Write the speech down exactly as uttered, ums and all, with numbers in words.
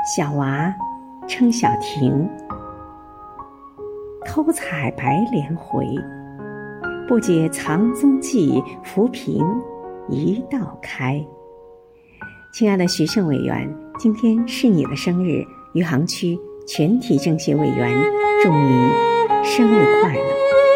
小娃称小婷，偷采白莲回，不觉藏踪迹，浮萍一道开。亲爱的徐胜委员，今天是你的生日，余杭区全体政协委员祝你生日快乐。